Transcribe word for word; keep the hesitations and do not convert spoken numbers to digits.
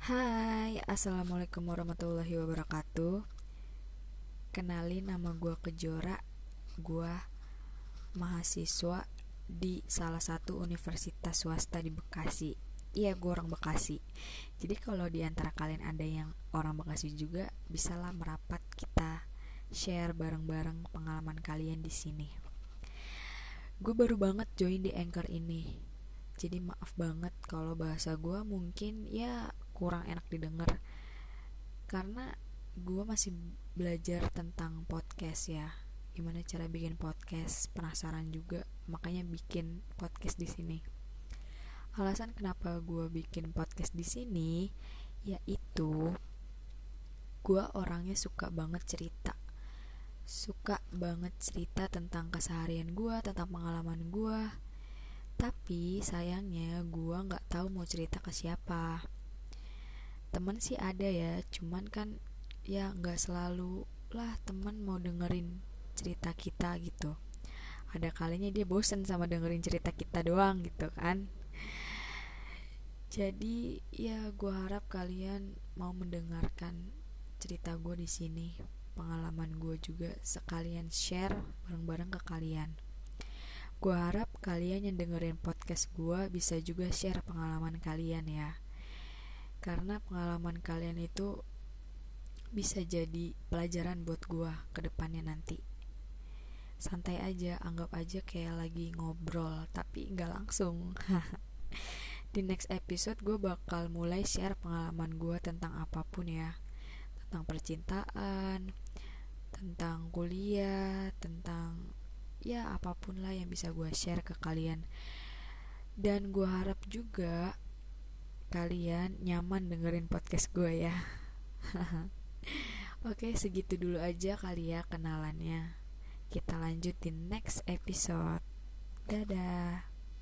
Hai, assalamualaikum warahmatullahi wabarakatuh. Kenalin, nama gue Kejora. Gue mahasiswa di salah satu universitas swasta di Bekasi. Iya, gue orang Bekasi. Jadi kalau di antara kalian ada yang orang Bekasi juga, bisalah merapat, kita share bareng-bareng pengalaman kalian di sini. Gue baru banget join di Anchor ini. Jadi maaf banget kalau bahasa gue mungkin ya kurang enak didengar, karena gue masih belajar tentang podcast ya, gimana cara bikin podcast, penasaran juga, makanya bikin podcast di sini. Alasan kenapa gue bikin podcast di sini yaitu gue orangnya suka banget cerita, suka banget cerita tentang keseharian gue, tentang pengalaman gue. Tapi sayangnya gue nggak tahu mau cerita ke siapa. Temen sih ada ya, cuman kan ya nggak selalu lah temen mau dengerin cerita kita gitu. Ada kalinya dia bosen sama dengerin cerita kita doang gitu kan. Jadi ya gue harap kalian mau mendengarkan cerita gue di sini, pengalaman gue juga sekalian share bareng-bareng ke kalian. Gue harap kalian yang dengerin podcast gue bisa juga share pengalaman kalian ya, karena pengalaman kalian itu bisa jadi pelajaran buat gue ke depannya nanti. Santai aja, anggap aja kayak lagi ngobrol tapi nggak langsung. Di next episode gue bakal mulai share pengalaman gue tentang apapun ya, tentang percintaan, tentang kuliah, tentang ya apapun lah yang bisa gue share ke kalian. Dan gue harap juga kalian nyaman dengerin podcast gue ya. Oke, segitu dulu aja kali ya kenalannya. Kita lanjut di next episode. Dadah.